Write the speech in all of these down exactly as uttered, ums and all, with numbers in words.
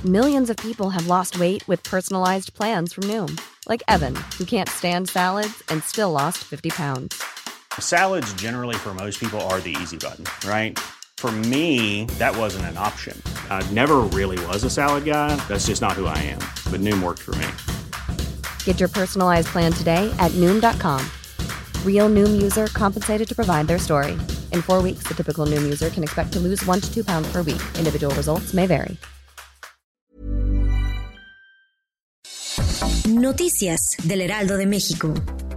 Millions of people have lost weight with personalized plans from Noom. Like Evan, who can't stand salads and still lost fifty pounds. Salads generally for most people are the easy button, right? For me, that wasn't an option. I never really was a salad guy. That's just not who I am. But Noom worked for me. Get your personalized plan today at Noom dot com. Real Noom user compensated to provide their story. In four weeks, the typical Noom user can expect to lose one to two pounds per week. Individual results may vary. Noticias del Heraldo de México.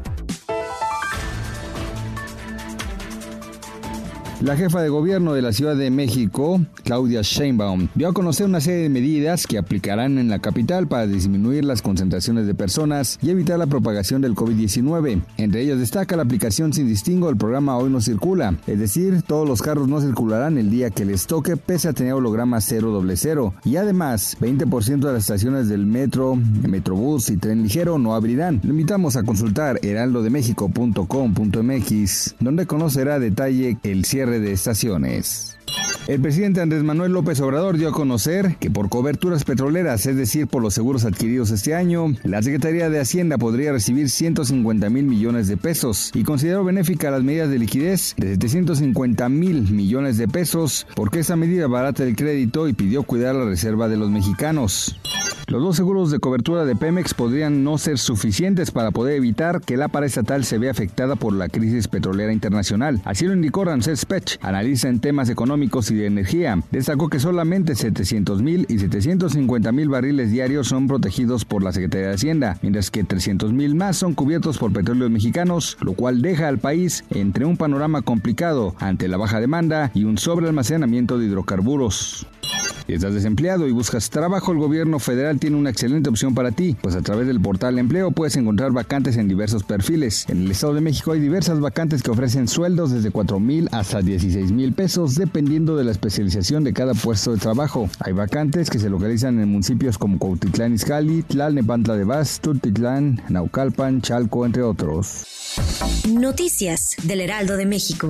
La jefa de gobierno de la Ciudad de México, Claudia Sheinbaum, dio a conocer una serie de medidas que aplicarán en la capital para disminuir las concentraciones de personas y evitar la propagación del covid diecinueve. Entre ellas destaca la aplicación sin distingo del programa Hoy No Circula, es decir, todos los carros no circularán el día que les toque pese a tener holograma cero doble cero. Y además, veinte por ciento de las estaciones del metro, metrobús y tren ligero no abrirán. Lo invitamos a consultar heraldo de méxico punto com punto m x, donde conocerá a detalle el cierre de estaciones. El presidente Andrés Manuel López Obrador dio a conocer que por coberturas petroleras, es decir, por los seguros adquiridos este año, la Secretaría de Hacienda podría recibir ciento cincuenta mil millones de pesos y consideró benéfica las medidas de liquidez de setecientos cincuenta mil millones de pesos porque esa medida barata el crédito y pidió cuidar la reserva de los mexicanos. Los dos seguros de cobertura de Pemex podrían no ser suficientes para poder evitar que la paraestatal se vea afectada por la crisis petrolera internacional. Así lo indicó Ramsés Pech, analista en temas económicos y de energía. Destacó que solamente setecientos mil y setecientos cincuenta mil barriles diarios son protegidos por la Secretaría de Hacienda, mientras que trescientos mil más son cubiertos por petróleos mexicanos, lo cual deja al país entre un panorama complicado ante la baja demanda y un sobrealmacenamiento de hidrocarburos. Si estás desempleado y buscas trabajo, el gobierno federal tiene una excelente opción para ti, pues a través del portal Empleo puedes encontrar vacantes en diversos perfiles. En el Estado de México hay diversas vacantes que ofrecen sueldos desde cuatro mil hasta dieciséis mil pesos, dependiendo de la especialización de cada puesto de trabajo. Hay vacantes que se localizan en municipios como Cuautitlán Izcalli, Tlalnepantla de Vaz, Tultitlán, Naucalpan, Chalco, entre otros. Noticias del Heraldo de México.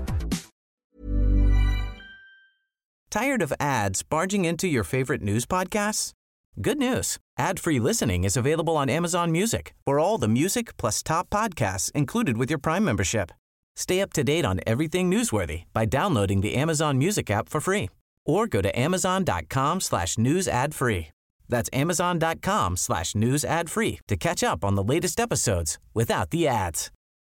Tired of ads barging into your favorite news podcasts? Good news. Ad-free listening is available on Amazon Music for all the music plus top podcasts included with your Prime membership. Stay up to date on everything newsworthy by downloading the Amazon Music app for free or go to amazon.com slash news ad free. That's amazon.com slash news ad free to catch up on the latest episodes without the ads.